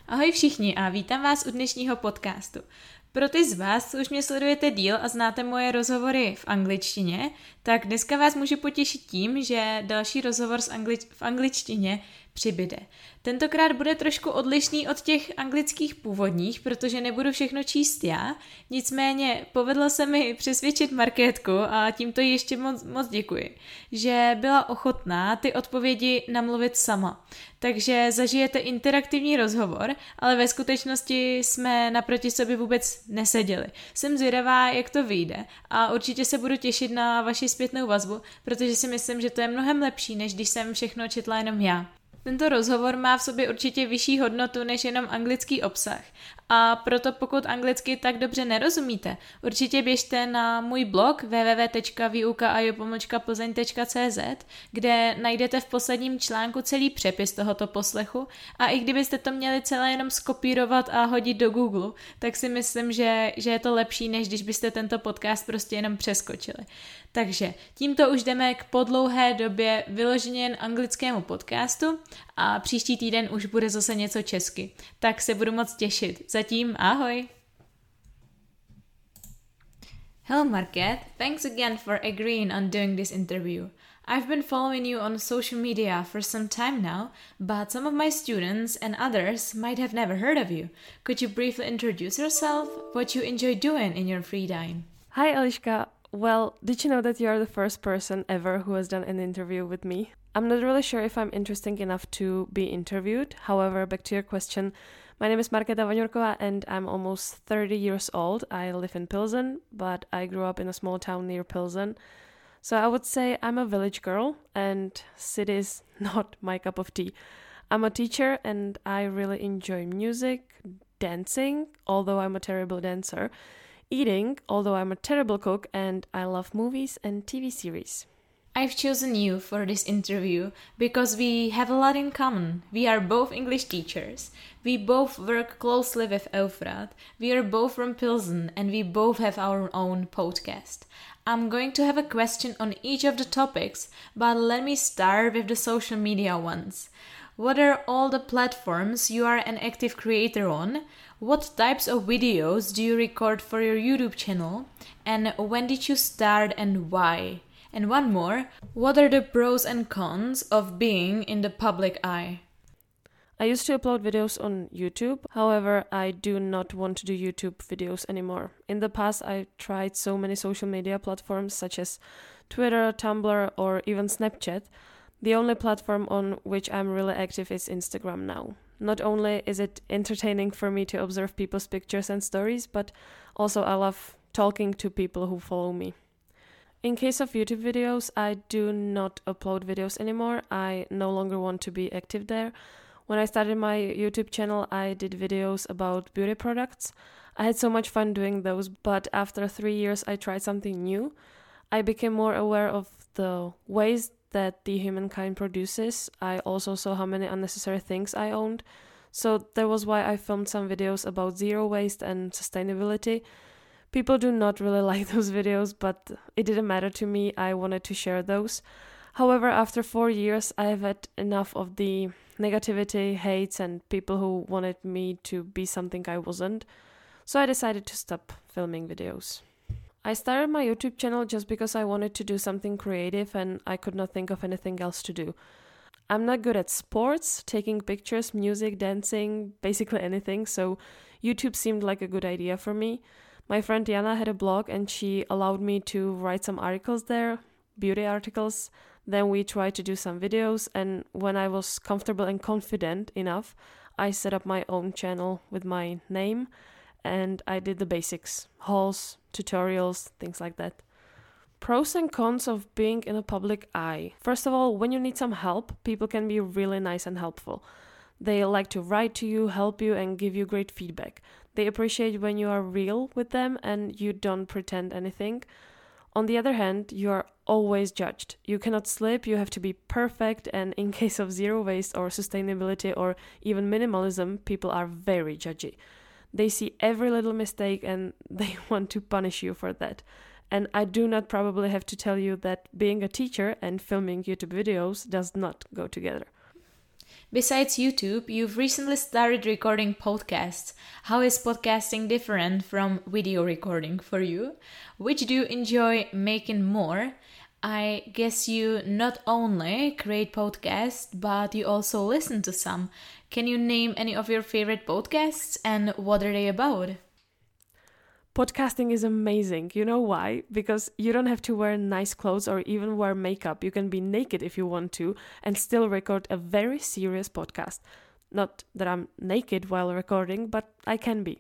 Ahoj všichni a vítám vás u dnešního podcastu. Pro ty z vás, co už mě sledujete díl a znáte moje rozhovory v angličtině, tak dneska vás můžu potěšit tím, že další rozhovor v angličtině přibyde. Tentokrát bude trošku odlišný od těch anglických původních, protože nebudu všechno číst já, nicméně povedlo se mi přesvědčit Markétku a tímto jí ještě moc děkuji, že byla ochotná ty odpovědi namluvit sama. Takže zažijete interaktivní rozhovor, ale ve skutečnosti jsme naproti sobě vůbec neseděli. Jsem zvědavá, jak to vyjde a určitě se budu těšit na vaši zpětnou vazbu, protože si myslím, že to je mnohem lepší, než když jsem všechno četla jenom já. Tento rozhovor má v sobě určitě vyšší hodnotu než jenom anglický obsah a proto pokud anglicky tak dobře nerozumíte, určitě běžte na můj blog www.vyuka.plzeň.cz, kde najdete v posledním článku celý přepis tohoto poslechu a i kdybyste to měli celé jenom skopírovat a hodit do Google, tak si myslím, že je to lepší, než když byste tento podcast prostě jenom přeskočili. Takže tímto už jdeme k po dlouhé době vyloženě jen anglickému podcastu a příští týden už bude zase něco česky. Tak se budu moc těšit. Zatím ahoj! Hello Market, thanks again for agreeing on doing this interview. I've been following you on social media for some time now, but some of my students and others might have never heard of you. Could you briefly introduce yourself, what you enjoy doing in your free time? Hi Eliška. Well, did you know that you are the first person ever who has done an interview with me? I'm not really sure if I'm interesting enough to be interviewed. However, back to your question, my name is Markéta Vaňurková and I'm almost 30 years old. I live in Pilsen, but I grew up in a small town near Pilsen. So I would say I'm a village girl and city is not my cup of tea. I'm a teacher and I really enjoy music, dancing, although I'm a terrible dancer, eating, although I'm a terrible cook, and I love movies and TV series. I've chosen you for this interview because we have a lot in common. We are both English teachers. We both work closely with Eufrat. We are both from Pilsen and we both have our own podcast. I'm going to have a question on each of the topics, but let me start with the social media ones. What are all the platforms you are an active creator on? What types of videos do you record for your YouTube channel? And when did you start and why? And one more, what are the pros and cons of being in the public eye? I used to upload videos on YouTube, however, I do not want to do YouTube videos anymore. In the past, I tried so many social media platforms such as Twitter, Tumblr, or even Snapchat. The only platform on which I'm really active is Instagram now. Not only is it entertaining for me to observe people's pictures and stories, but also I love talking to people who follow me. In case of YouTube videos, I do not upload videos anymore. I no longer want to be active there. When I started my YouTube channel, I did videos about beauty products. I had so much fun doing those, but after 3 years, I tried something new. I became more aware of the waste that the humankind produces. I also saw how many unnecessary things I owned. So that was why I filmed some videos about zero waste and sustainability. People do not really like those videos, but it didn't matter to me. I wanted to share those. However, after 4 years, I have had enough of the negativity, hates, and people who wanted me to be something I wasn't. So I decided to stop filming videos. I started my YouTube channel just because I wanted to do something creative and I could not think of anything else to do. I'm not good at sports, taking pictures, music, dancing, basically anything, so YouTube seemed like a good idea for me. My friend Jana had a blog and she allowed me to write some articles there, beauty articles. Then we tried to do some videos, and when I was comfortable and confident enough, I set up my own channel with my name and I did the basics, hauls, tutorials, things like that. Pros and cons of being in a public eye. First of all, when you need some help, people can be really nice and helpful. They like to write to you, help you, and give you great feedback. They appreciate when you are real with them and you don't pretend anything. On the other hand, you are always judged. You cannot slip, you have to be perfect, and in case of zero waste or sustainability or even minimalism, people are very judgy. They see every little mistake and they want to punish you for that. And I do not probably have to tell you that being a teacher and filming YouTube videos does not go together. Besides YouTube, you've recently started recording podcasts. How is podcasting different from video recording for you? Which do you enjoy making more? I guess you not only create podcasts, but you also listen to some. Can you name any of your favorite podcasts and what are they about? Podcasting is amazing. You know why? Because you don't have to wear nice clothes or even wear makeup. You can be naked if you want to and still record a very serious podcast. Not that I'm naked while recording, but I can be.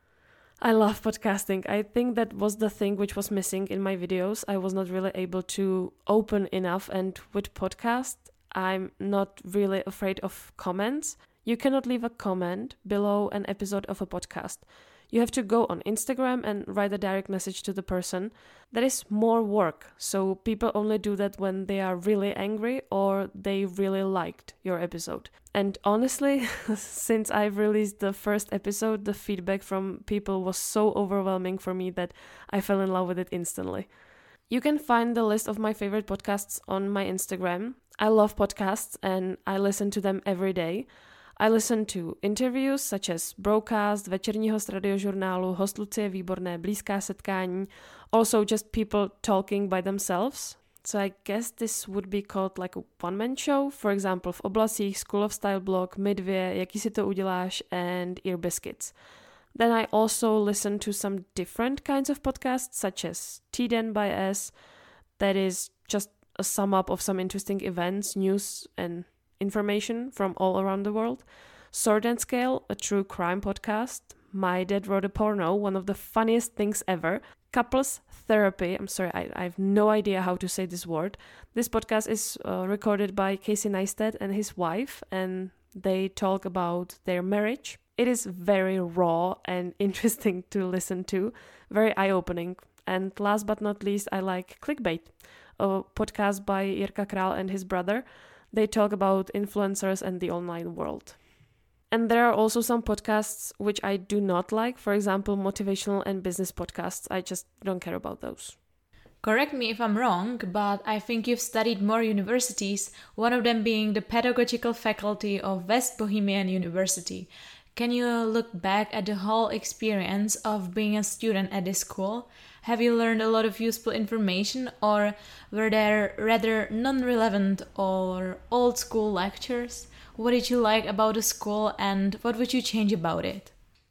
I love podcasting. I think that was the thing which was missing in my videos. I was not really able to open enough, and with podcast, I'm not really afraid of comments. You cannot leave a comment below an episode of a podcast. You have to go on Instagram and write a direct message to the person. That is more work, so people only do that when they are really angry or they really liked your episode. And honestly, since I've released the first episode, the feedback from people was so overwhelming for me that I fell in love with it instantly. You can find the list of my favorite podcasts on my Instagram. I love podcasts and I listen to them every day. I listen to interviews such as Broadcast, Večerní host radiožurnálu, Host Lucie Výborné, Blízká setkání, also just people talking by themselves. So I guess this would be called like a one-man show, for example v Oblasích, School of Style blog, My 2, Jaký si to uděláš, and Ear Biscuits. Then I also listen to some different kinds of podcasts such as Týden by S, that is just a sum up of some interesting events, news and information from all around the world. Sword and Scale, a true crime podcast. My Dad Wrote a Porno, one of the funniest things ever. Couples Therapy, I'm sorry, I have no idea how to say this word. This podcast is recorded by Casey Neistat and his wife, and they talk about their marriage. It is very raw and interesting to listen to, very eye-opening. And last but not least, I like Clickbait, a podcast by Jirka Král and his brother. They talk about influencers and the online world. And there are also some podcasts which I do not like. For example, motivational and business podcasts. I just don't care about those. Correct me if I'm wrong, but I think you've studied more universities, one of them being the pedagogical faculty of West Bohemian University. Can you look back at the whole experience of being a student at this school? Have you learned a lot of useful information, or were there rather non-relevant or old school lectures? What did you like about the school and what would you change about it?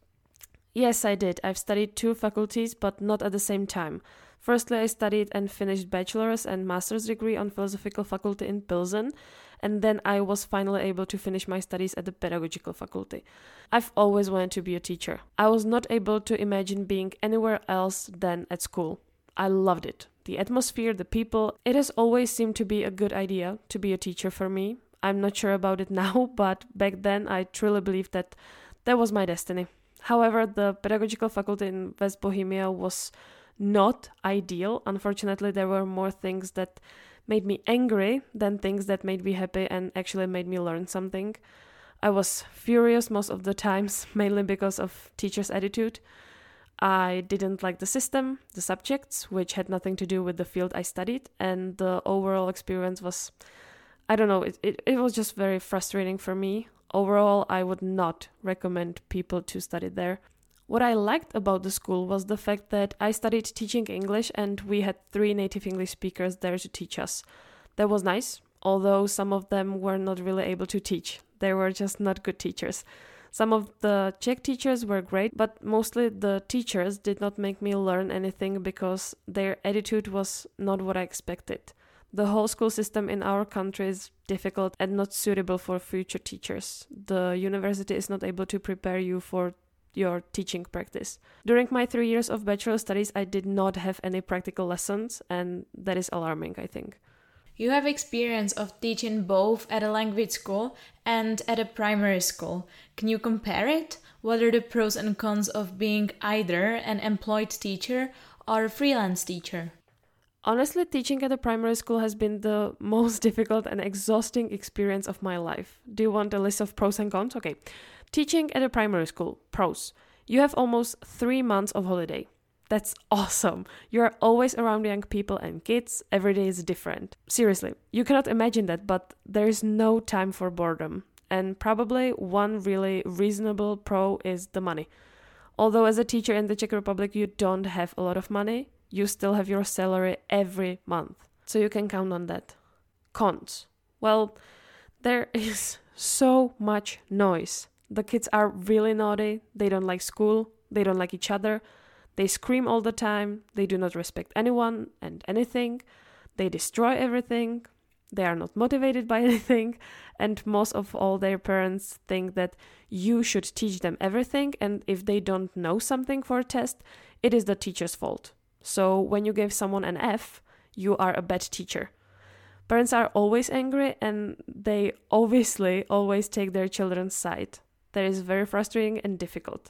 Yes, I did. I've studied 2 faculties, but not at the same time. Firstly, I studied and finished bachelor's and master's degree on philosophical faculty in Pilsen, and then I was finally able to finish my studies at the pedagogical faculty. I've always wanted to be a teacher. I was not able to imagine being anywhere else than at school. I loved it. The atmosphere, the people. It has always seemed to be a good idea to be a teacher for me. I'm not sure about it now, but back then I truly believed that that was my destiny. However, the pedagogical faculty in West Bohemia was not ideal. Unfortunately, there were more things that made me angry than things that made me happy and actually made me learn something. I was furious most of the times, mainly because of teachers' attitude. I didn't like the system, the subjects, which had nothing to do with the field I studied, and the overall experience was, I don't know, it was just very frustrating for me. Overall, I would not recommend people to study there. What I liked about the school was the fact that I studied teaching English and we had 3 native English speakers there to teach us. That was nice, although some of them were not really able to teach. They were just not good teachers. Some of the Czech teachers were great, but mostly the teachers did not make me learn anything because their attitude was not what I expected. The whole school system in our country is difficult and not suitable for future teachers. The university is not able to prepare you for your teaching practice. During my 3 years of bachelor studies, I did not have any practical lessons, and that is alarming, I think. You have experience of teaching both at a language school and at a primary school. Can you compare it? What are the pros and cons of being either an employed teacher or a freelance teacher? Honestly, teaching at a primary school has been the most difficult and exhausting experience of my life. Do you want a list of pros and cons? Okay. Teaching at a primary school. Pros. You have almost 3 months of holiday. That's awesome. You are always around young people and kids. Every day is different. Seriously, you cannot imagine that, but there is no time for boredom. And probably one really reasonable pro is the money. Although as a teacher in the Czech Republic you don't have a lot of money, you still have your salary every month. So you can count on that. Cons. Well, there is so much noise. The kids are really naughty, they don't like school, they don't like each other, they scream all the time, they do not respect anyone and anything, they destroy everything, they are not motivated by anything, and most of all their parents think that you should teach them everything, and if they don't know something for a test, it is the teacher's fault. So when you give someone an F, you are a bad teacher. Parents are always angry and they obviously always take their children's side. That is very frustrating and difficult.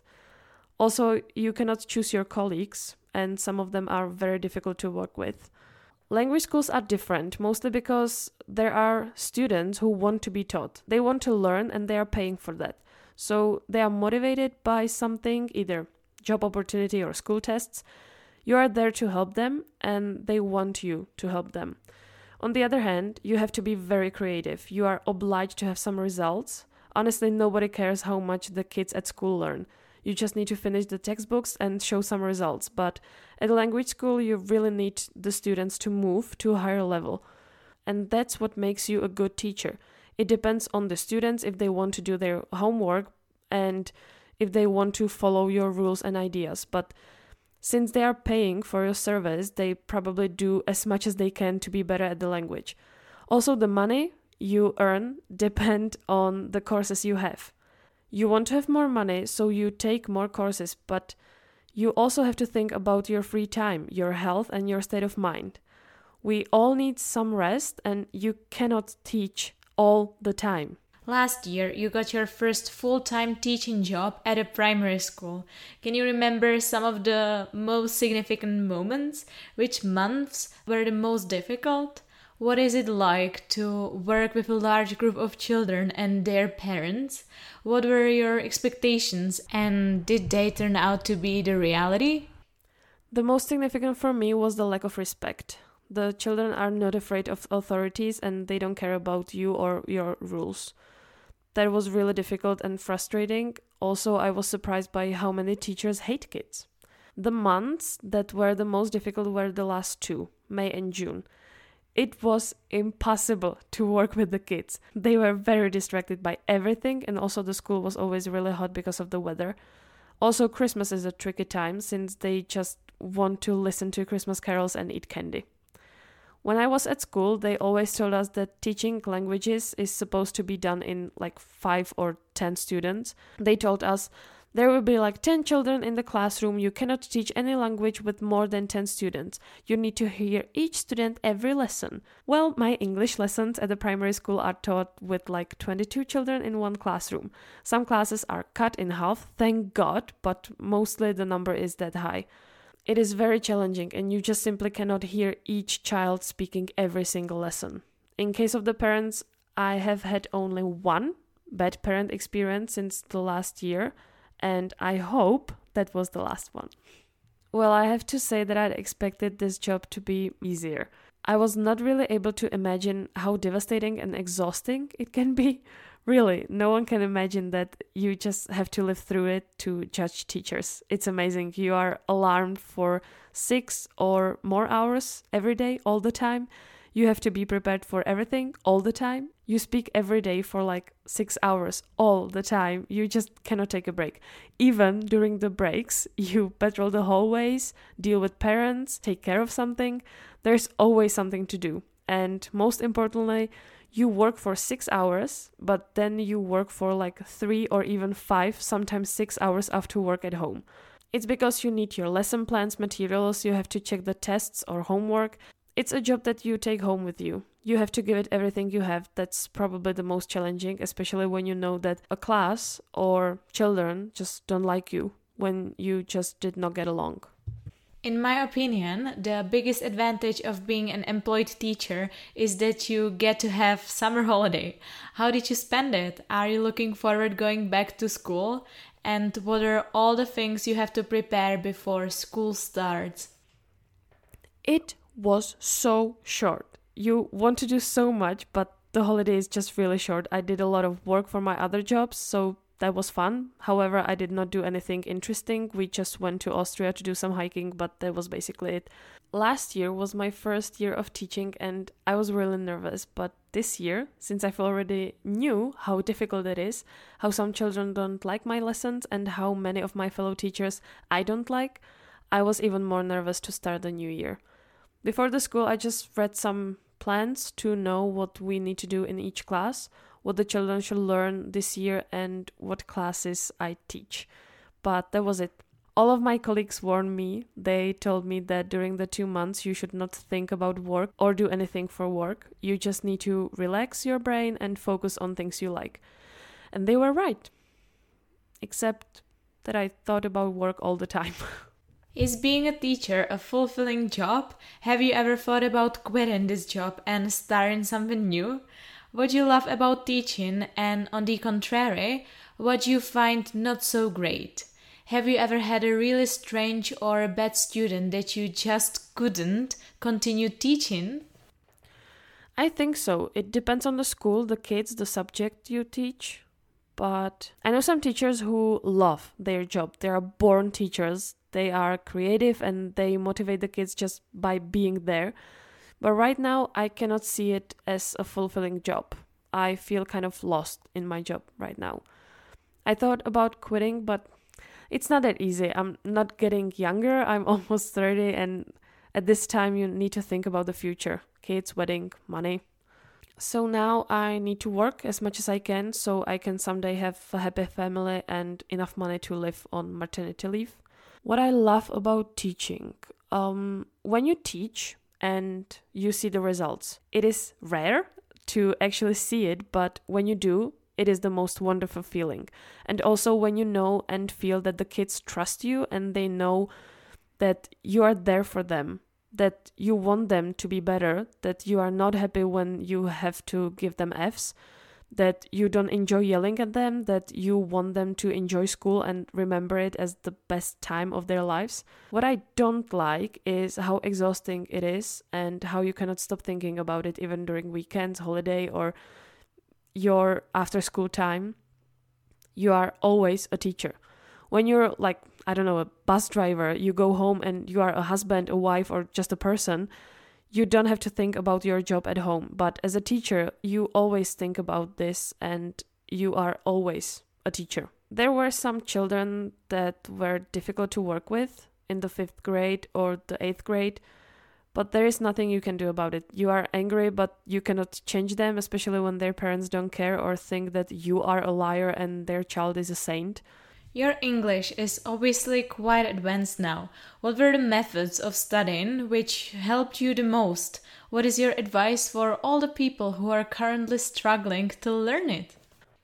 Also, you cannot choose your colleagues, and some of them are very difficult to work with. Language schools are different, mostly because there are students who want to be taught. They want to learn and they are paying for that. So they are motivated by something, either job opportunity or school tests. You are there to help them and they want you to help them. On the other hand, you have to be very creative. You are obliged to have some results. Honestly, nobody cares how much the kids at school learn. You just need to finish the textbooks and show some results. But at a language school, you really need the students to move to a higher level. And that's what makes you a good teacher. It depends on the students if they want to do their homework and if they want to follow your rules and ideas. But since they are paying for your service, they probably do as much as they can to be better at the language. Also, the money you earn depend on the courses you have. You want to have more money, so you take more courses, but you also have to think about your free time, your health, and your state of mind. We all need some rest, and you cannot teach all the time. Last year, you got your first full-time teaching job at a primary school. Can you remember some of the most significant moments? Which months were the most difficult? What is it like to work with a large group of children and their parents? What were your expectations and did they turn out to be the reality? The most significant for me was the lack of respect. The children are not afraid of authorities and they don't care about you or your rules. That was really difficult and frustrating. Also, I was surprised by how many teachers hate kids. The months that were the most difficult were the last two, May and June. It was impossible to work with the kids. They were very distracted by everything, and also the school was always really hot because of the weather. Also, Christmas is a tricky time since they just want to listen to Christmas carols and eat candy. When I was at school, they always told us that teaching languages is supposed to be done in like 5 or 10 students. They told us there will be like 10 children in the classroom. You cannot teach any language with more than 10 students. You need to hear each student every lesson. Well, my English lessons at the primary school are taught with like 22 children in one classroom. Some classes are cut in half, thank God, but mostly the number is that high. It is very challenging and you just simply cannot hear each child speaking every single lesson. In case of the parents, I have had only one bad parent experience since the last year, and I hope that was the last one. Well, I have to say that I expected this job to be easier. I was not really able to imagine how devastating and exhausting it can be. Really, no one can imagine that you just have to live through it to judge teachers. It's amazing. You are alarmed for 6 or more hours every day, all the time. You have to be prepared for everything all the time. You speak every day for like 6 hours all the time. You just cannot take a break. Even during the breaks, you patrol the hallways, deal with parents, take care of something. There's always something to do. And most importantly, you work for 6 hours, but then you work for like 3 or even 5, sometimes 6 hours after work at home. It's because you need your lesson plans, materials, you have to check the tests or homework. It's a job that you take home with you. You have to give it everything you have. That's probably the most challenging, especially when you know that a class or children just don't like you, when you just did not get along. In my opinion, the biggest advantage of being an employed teacher is that you get to have summer holiday. How did you spend it? Are you looking forward going back to school? And what are all the things you have to prepare before school starts? It was so short. You want to do so much, but the holiday is just really short. I did a lot of work for my other jobs, so that was fun. However, I did not do anything interesting. We just went to Austria to do some hiking, but that was basically it. Last year was my first year of teaching and I was really nervous. But this year, since I've already knew how difficult it is, how some children don't like my lessons and how many of my fellow teachers I don't like, I was even more nervous to start the new year. Before the school, I just read some plans to know what we need to do in each class, what the children should learn this year and what classes I teach. But that was it. All of my colleagues warned me. They told me that during the 2 months you should not think about work or do anything for work. You just need to relax your brain and focus on things you like. And they were right. Except that I thought about work all the time. Is being a teacher a fulfilling job? Have you ever thought about quitting this job and starting something new? What you love about teaching and, on the contrary, what you find not so great? Have you ever had a really strange or a bad student that you just couldn't continue teaching? I think so. It depends on the school, the kids, the subject you teach. But I know some teachers who love their job. They are born teachers. They are creative and they motivate the kids just by being there. But right now, I cannot see it as a fulfilling job. I feel kind of lost in my job right now. I thought about quitting, but it's not that easy. I'm not getting younger. I'm almost 30, and at this time, you need to think about the future. Kids, wedding, money. So now I need to work as much as I can so I can someday have a happy family and enough money to live on maternity leave. What I love about teaching, when you teach and you see the results, it is rare to actually see it, but when you do, it is the most wonderful feeling. And also when you know and feel that the kids trust you and they know that you are there for them, that you want them to be better, that you are not happy when you have to give them Fs, that you don't enjoy yelling at them, that you want them to enjoy school and remember it as the best time of their lives. What I don't like is how exhausting it is and how you cannot stop thinking about it even during weekends, holiday, or your after school time. You are always a teacher. When you're like, I don't know, a bus driver, you go home and you are a husband, a wife, or just a person, you don't have to think about your job at home. But as a teacher, you always think about this and you are always a teacher. There were some children that were difficult to work with in the 5th grade or the 8th grade, but there is nothing you can do about it. You are angry, but you cannot change them, especially when their parents don't care or think that you are a liar and their child is a saint. Your English is obviously quite advanced now. What were the methods of studying which helped you the most? What is your advice for all the people who are currently struggling to learn it?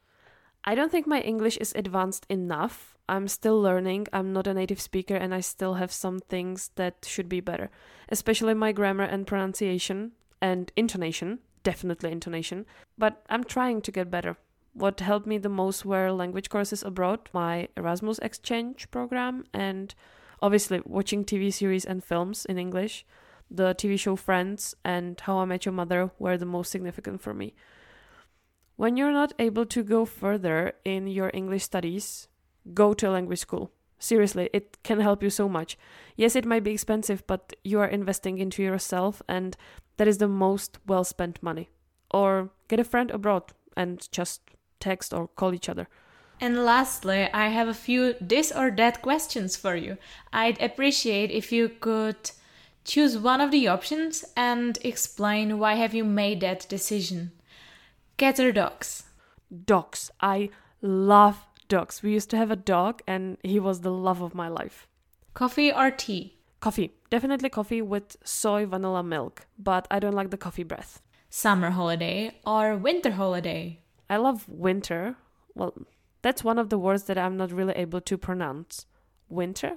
I don't think my English is advanced enough. I'm still learning. I'm not a native speaker and I still have some things that should be better, especially my grammar and pronunciation and intonation, definitely intonation, but I'm trying to get better. What helped me the most were language courses abroad, my Erasmus exchange program, and obviously watching TV series and films in English. The TV show Friends and How I Met Your Mother were the most significant for me. When you're not able to go further in your English studies, go to a language school. Seriously, it can help you so much. Yes, it might be expensive, but you are investing into yourself and that is the most well-spent money. Or get a friend abroad and just text or call each other. And lastly, I have a few this or that questions for you. I'd appreciate if you could choose one of the options and explain why have you made that decision. Cats or dogs? Dogs. I love dogs. We used to have a dog and he was the love of my life. Coffee or tea? Coffee. Definitely coffee with soy vanilla milk, but I don't like the coffee breath. Summer holiday or winter holiday? I love winter. Well, that's one of the words that I'm not really able to pronounce. Winter?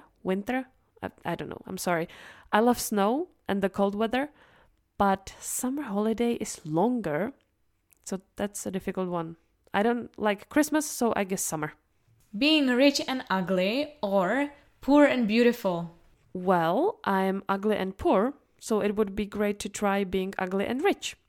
I don't know. I'm sorry. I love snow and the cold weather, but summer holiday is longer. So that's a difficult one. I don't like Christmas, so I guess summer. Being rich and ugly or poor and beautiful? Well, I'm ugly and poor, so it would be great to try being ugly and rich.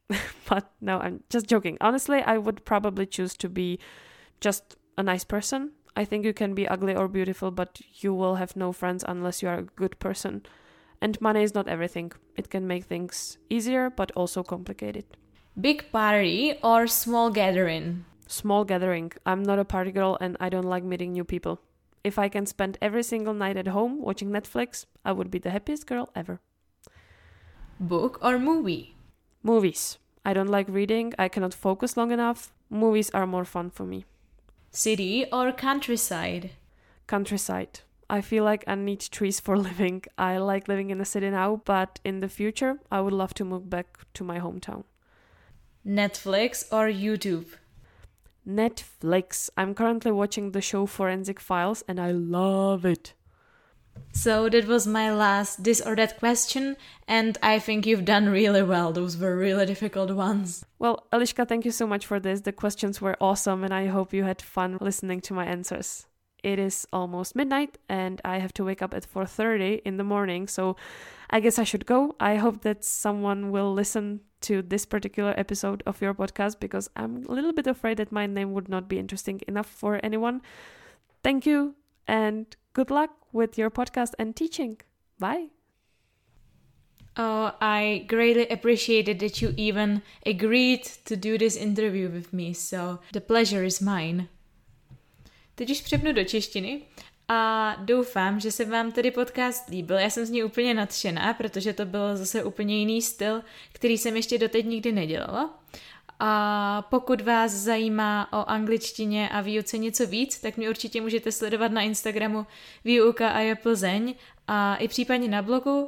But no, I'm just joking. Honestly, I would probably choose to be just a nice person. I think you can be ugly or beautiful, but you will have no friends unless you are a good person. And money is not everything. It can make things easier, but also complicated. Big party or small gathering? Small gathering. I'm not a party girl and I don't like meeting new people. If I can spend every single night at home watching Netflix, I would be the happiest girl ever. Book or movie? Movies. I don't like reading. I cannot focus long enough. Movies are more fun for me. City or countryside? Countryside. I feel like I need trees for living. I like living in the city now, but in the future, I would love to move back to my hometown. Netflix or YouTube? Netflix. I'm currently watching the show Forensic Files and I love it. So that was my last this or that question, and I think you've done really well. Those were really difficult ones. Well, Eliška, thank you so much for this. The questions were awesome and I hope you had fun listening to my answers. It is almost midnight and I have to wake up at 4:30 in the morning, so I guess I should go. I hope that someone will listen to this particular episode of your podcast because I'm a little bit afraid that my name would not be interesting enough for anyone. Thank you and good luck with your podcast and teaching. Bye. Oh, I greatly appreciated that you even agreed to do this interview with me, so the pleasure is mine. Teď už přepnu do češtiny a doufám, že se vám tedy podcast líbil. Já jsem z ní úplně nadšená, protože to byl zase úplně jiný styl, který jsem ještě doteď nikdy nedělala. A pokud vás zajímá o angličtině a výuce něco víc, tak mě určitě můžete sledovat na Instagramu Výuka a je Plzeň a i případně na blogu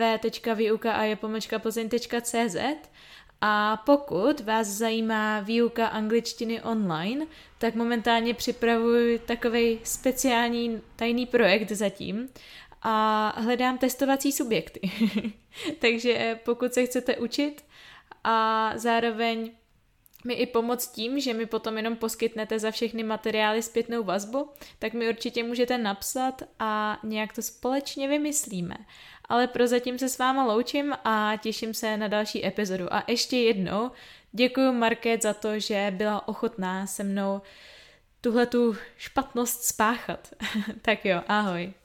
www.vyukaaje-plzeň.cz. A pokud vás zajímá výuka angličtiny online, tak momentálně připravuji takovej speciální tajný projekt zatím a hledám testovací subjekty. Takže pokud se chcete učit a zároveň mi i pomoct tím, že mi potom jenom poskytnete za všechny materiály zpětnou vazbu, tak mi určitě můžete napsat a nějak to společně vymyslíme. Ale prozatím se s váma loučím a těším se na další epizodu. A ještě jednou děkuji Market za to, že byla ochotná se mnou tuhletu špatnost spáchat. Tak jo, ahoj.